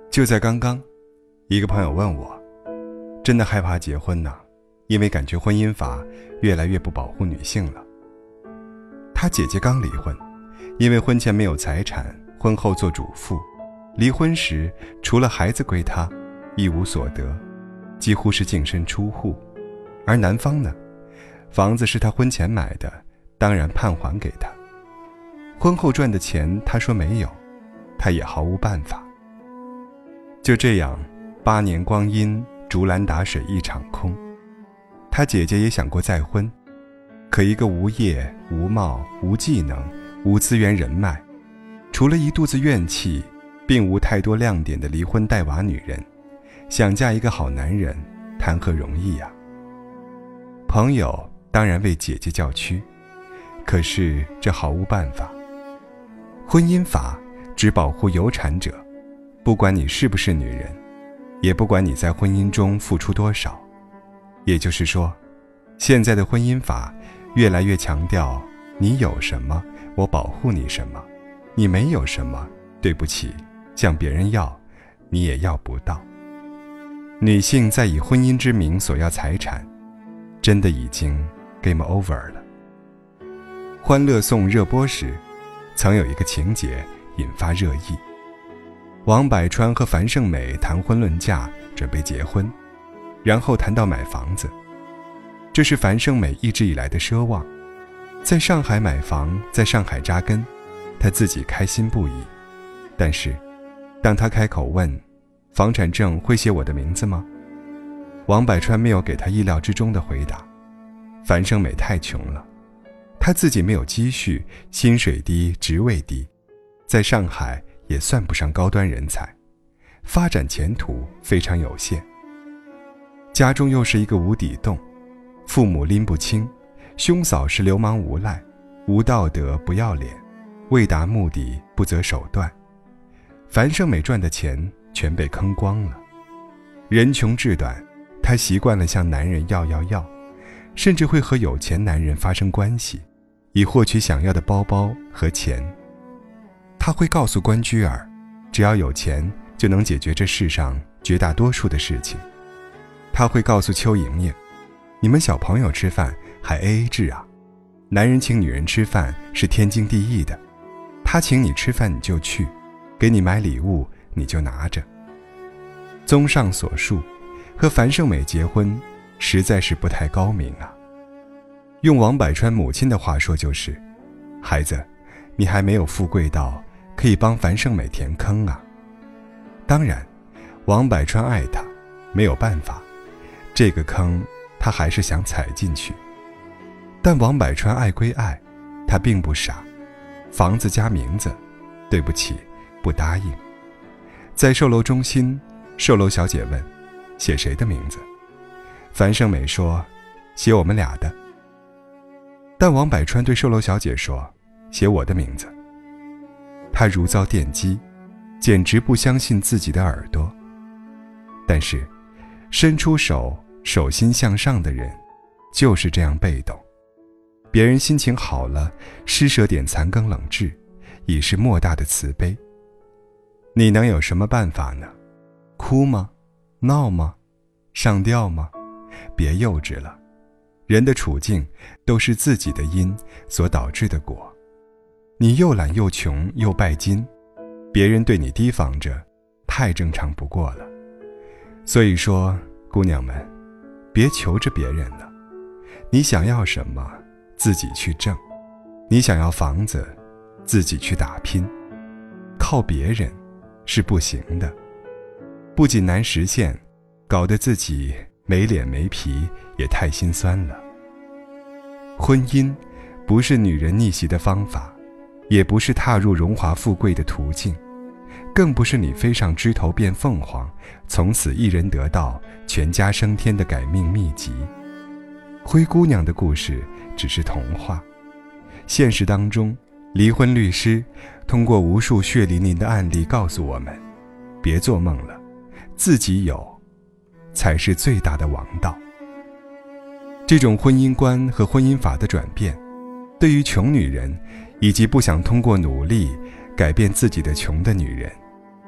就在刚刚，一个朋友问我，真的害怕结婚呢，因为感觉婚姻法越来越不保护女性了。他姐姐刚离婚，因为婚前没有财产，婚后做主妇，离婚时除了孩子归他，一无所得，几乎是净身出户。而男方呢，房子是他婚前买的，当然判还给他。婚后赚的钱他说没有，他也毫无办法。就这样8年光阴，竹篮打水一场空。他姐姐也想过再婚，可一个无业无貌无技能无资源人脉，除了一肚子怨气，并无太多亮点的离婚带娃女人，想嫁一个好男人谈何容易啊。朋友当然为姐姐叫屈，可是这毫无办法。婚姻法只保护有产者，不管你是不是女人，也不管你在婚姻中付出多少。也就是说，现在的婚姻法越来越强调你有什么我保护你什么，你没有什么，对不起，向别人要你也要不到。女性在以婚姻之名索要财产，真的已经 game over 了。欢乐颂热播时，曾有一个情节引发热议。王柏川和樊胜美谈婚论嫁，准备结婚，然后谈到买房子。这是樊胜美一直以来的奢望，在上海买房，在上海扎根，她自己开心不已。但是当她开口问房产证会写我的名字吗，王柏川没有给她意料之中的回答。樊胜美太穷了，她自己没有积蓄，薪水低，职位低，在上海也算不上高端人才，发展前途非常有限。家中又是一个无底洞，父母拎不清，兄嫂是流氓无赖，无道德不要脸，为达目的不择手段。樊胜美赚的钱全被坑光了。人穷志短，她习惯了向男人要，甚至会和有钱男人发生关系，以获取想要的包包和钱。他会告诉关雎尔，只要有钱就能解决这世上绝大多数的事情。他会告诉邱莹莹，你们小朋友吃饭还 AA 制啊，男人请女人吃饭是天经地义的，他请你吃饭你就去，给你买礼物你就拿着。综上所述，和樊胜美结婚实在是不太高明啊。用王柏川母亲的话说就是，孩子，你还没有富贵到可以帮樊胜美填坑啊。当然王柏川爱她，没有办法，这个坑他还是想踩进去。但王柏川爱归爱，他并不傻，房子加名字，对不起，不答应。在售楼中心，售楼小姐问，写谁的名字？樊胜美说，写我们俩的。但王柏川对售楼小姐说，写我的名字。他如遭电击，简直不相信自己的耳朵。但是伸出手，手心向上的人就是这样被动。别人心情好了，施舍点残羹冷炙，已是莫大的慈悲。你能有什么办法呢？哭吗？闹吗？上吊吗？别幼稚了，人的处境都是自己的因所导致的果。你又懒又穷又拜金，别人对你提防着，太正常不过了。所以说，姑娘们，别求着别人了，你想要什么自己去挣，你想要房子自己去打拼，靠别人是不行的，不仅难实现，搞得自己没脸没皮，也太心酸了。婚姻不是女人逆袭的方法，也不是踏入荣华富贵的途径，更不是你飞上枝头变凤凰，从此一人得道全家升天的改命秘籍。灰姑娘的故事只是童话，现实当中，离婚律师通过无数血淋淋的案例告诉我们，别做梦了，自己有才是最大的王道。这种婚姻观和婚姻法的转变，对于穷女人以及不想通过努力改变自己的穷的女人，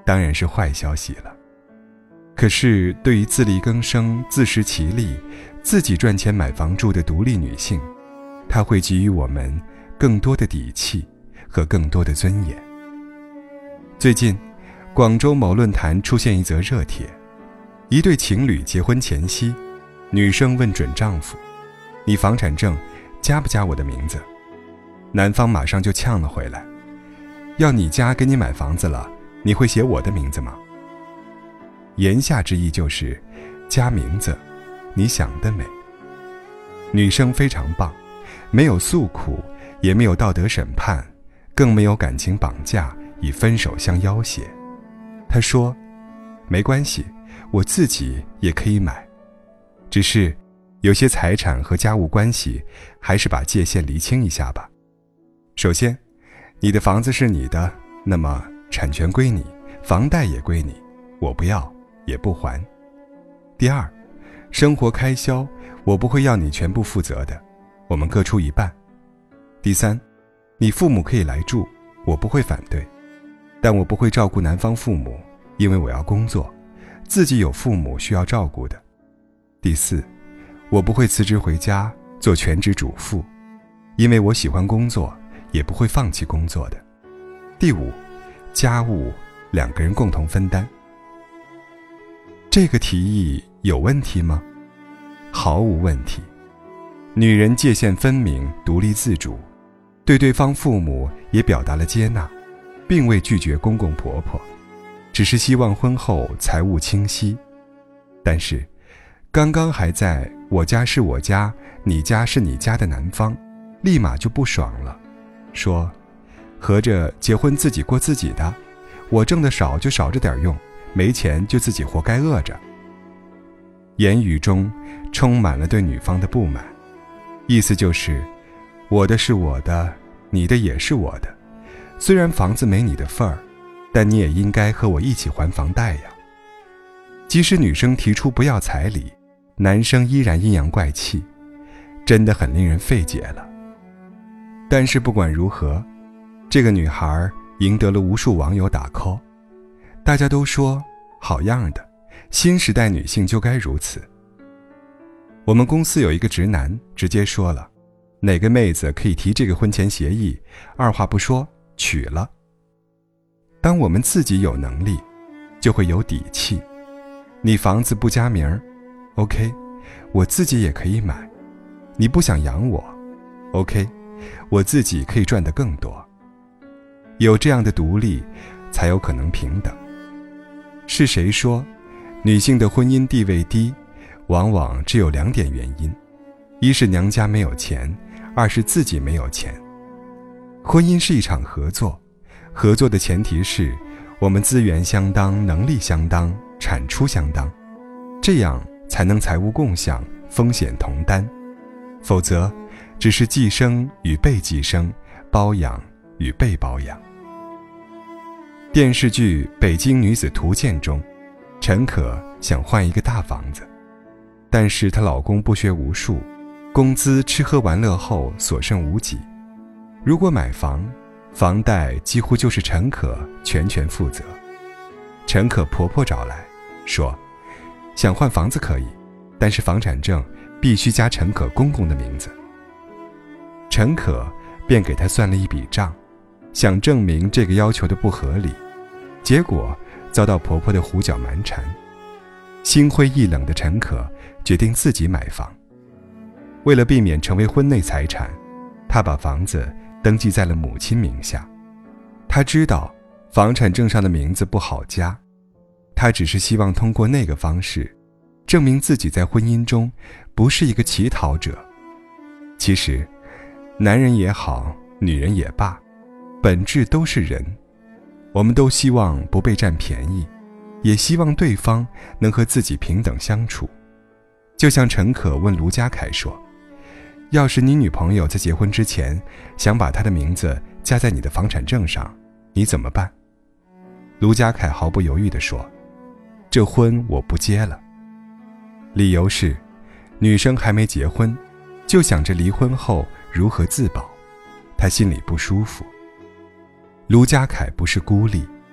当然是坏消息了。可是对于自力更生、自食其力、自己赚钱买房住的独立女性，她会给予我们更多的底气和更多的尊严。最近，广州某论坛出现一则热帖，一对情侣结婚前夕，女生问准丈夫：“你房产证加不加我的名字？”男方马上就呛了回来：“要你家给你买房子了，你会写我的名字吗？”言下之意就是加名字，你想得美。女生非常棒，没有诉苦，也没有道德审判，更没有感情绑架，以分手相要挟。她说：“没关系，我自己也可以买，只是有些财产和家务关系，还是把界限厘清一下吧。首先，你的房子是你的，那么产权归你，房贷也归你，我不要也不还。第二，生活开销我不会要你全部负责的，我们各出一半。第三，你父母可以来住，我不会反对，但我不会照顾男方父母，因为我要工作，自己有父母需要照顾的。第四，我不会辞职回家做全职主妇，因为我喜欢工作，也不会放弃工作的。第五，家务两个人共同分担。这个提议有问题吗？毫无问题。女人界限分明，独立自主，对对方父母也表达了接纳，并未拒绝公公婆婆，只是希望婚后财务清晰。但是刚刚还在我家是我家，你家是你家的男方立马就不爽了，说合着结婚自己过自己的，我挣得少就少着点用，没钱就自己活该饿着。言语中充满了对女方的不满，意思就是我的是我的，你的也是我的，虽然房子没你的份儿，但你也应该和我一起还房贷呀。即使女生提出不要彩礼，男生依然阴阳怪气，真的很令人费解了。但是不管如何，这个女孩赢得了无数网友打 call， 大家都说好样的，新时代女性就该如此。我们公司有一个直男直接说了，哪个妹子可以提这个婚前协议，二话不说娶了。当我们自己有能力，就会有底气。你房子不加名 OK， 我自己也可以买。你不想养我 OK， 我自己可以赚得更多。有这样的独立，才有可能平等。是谁说女性的婚姻地位低？往往只有2点原因，一是娘家没有钱，二是自己没有钱。婚姻是一场合作，合作的前提是我们资源相当，能力相当，产出相当，这样才能财务共享，风险同担。否则只是寄生与被寄生，包养与被包养。电视剧《北京女子图鉴》中，陈可想换一个大房子，但是她老公不学无术，工资吃喝玩乐后所剩无几。如果买房，房贷几乎就是陈可全权负责。陈可婆婆找来说，想换房子可以，但是房产证必须加陈可公公的名字。陈可便给她算了一笔账，想证明这个要求的不合理，结果遭到婆婆的胡搅蛮缠。心灰意冷的陈可决定自己买房。为了避免成为婚内财产，她把房子登记在了母亲名下。她知道房产证上的名字不好加，她只是希望通过那个方式证明自己在婚姻中不是一个乞讨者。其实男人也好，女人也罢，本质都是人，我们都希望不被占便宜，也希望对方能和自己平等相处。就像陈可问卢家凯说，要是你女朋友在结婚之前想把她的名字加在你的房产证上，你怎么办？卢家凯毫不犹豫地说，这婚我不结了。理由是女生还没结婚，就想着离婚后如何自保，她心里不舒服。卢家凯不是孤立，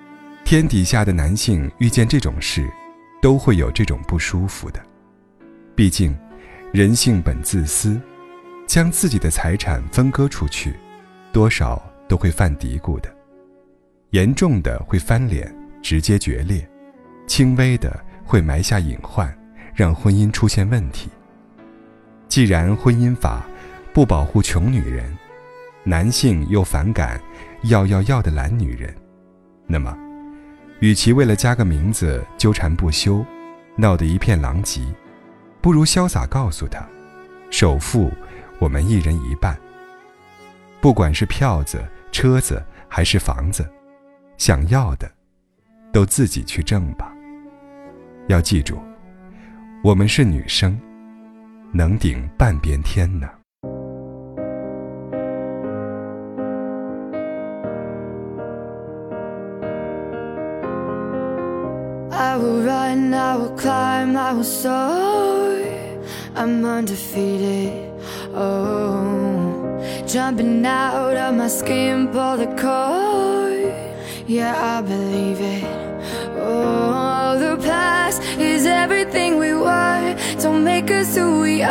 天底下的男性遇见这种事，都会有这种不舒服的。毕竟，人性本自私，将自己的财产分割出去，多少都会犯嘀咕的。严重的会翻脸，直接决裂；轻微的会埋下隐患，让婚姻出现问题。既然婚姻法不保护穷女人，男性又反感要的懒女人，那么与其为了加个名字纠缠不休，闹得一片狼藉，不如潇洒告诉他，首付我们一人一半，不管是票子、车子还是房子，想要的都自己去挣吧。要记住，我们是女生，能顶半边天呢。 I will run, I will climb, I will soar. I'm undefeated. Oh, jumping out of my skin, pull the cord. Yeah, I believe it. Oh, the past is everything we were. Don't make us who we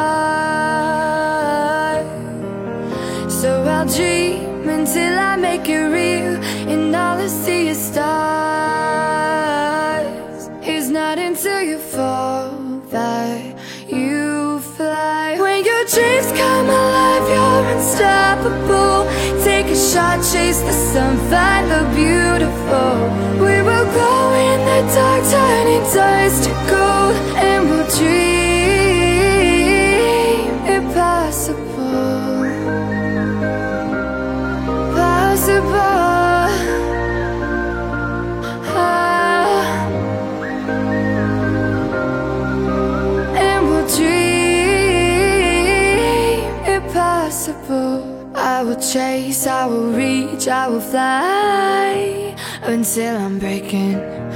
are. So I'll dream until I make it real, and all I see is stars. It's not until you fall that you fly. When your dreams come alive, you're unstoppable. Take a shot, chase the sun, find the beautiful. We will glow in the dark, turning dust to gold, and we'll dream impossible. Possible. I will chase, I will reach, I will fly until I'm breaking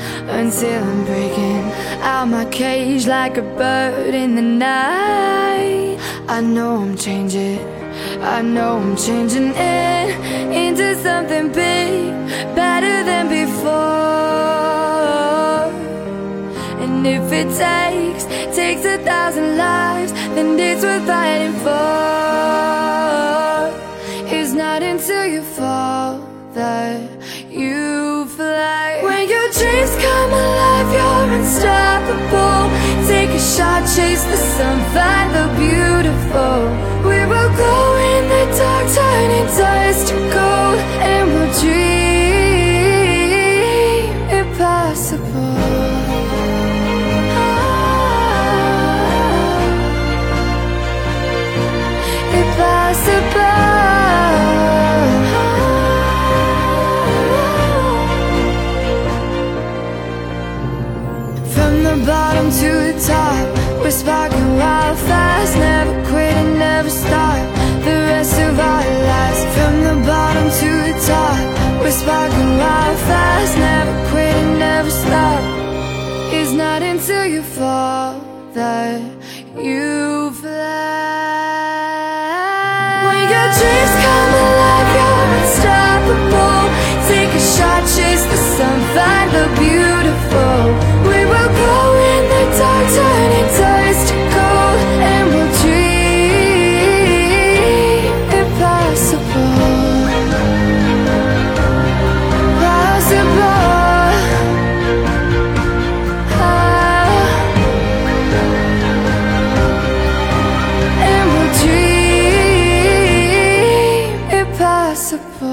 out my cage like a bird in the night. I know I'm changing into something big, better than before. And if it takes 1,000 lives, then it's worth fighting for. It's not until you fall that you fly. When your dreams come alive, you're unstoppable. Take a shot, chase the sun, find the beautiful. We will glow in the dark, turning dust to gold, and we'll dream impossible. Impossible. From the bottom to the top, we're sparking wild fast. Never quit and never stop the rest of our lives. From the bottom to the top, we're sparking wild fast. Never quit and never stop. It's not until you fall that you fly. When your dreams come alive, you're unstoppable. Take a shot, chase the sun, find the beautiful. We will glow in the dark, turning dust to gold, and we'll dream impossible. Possible. And we'll dream impossible.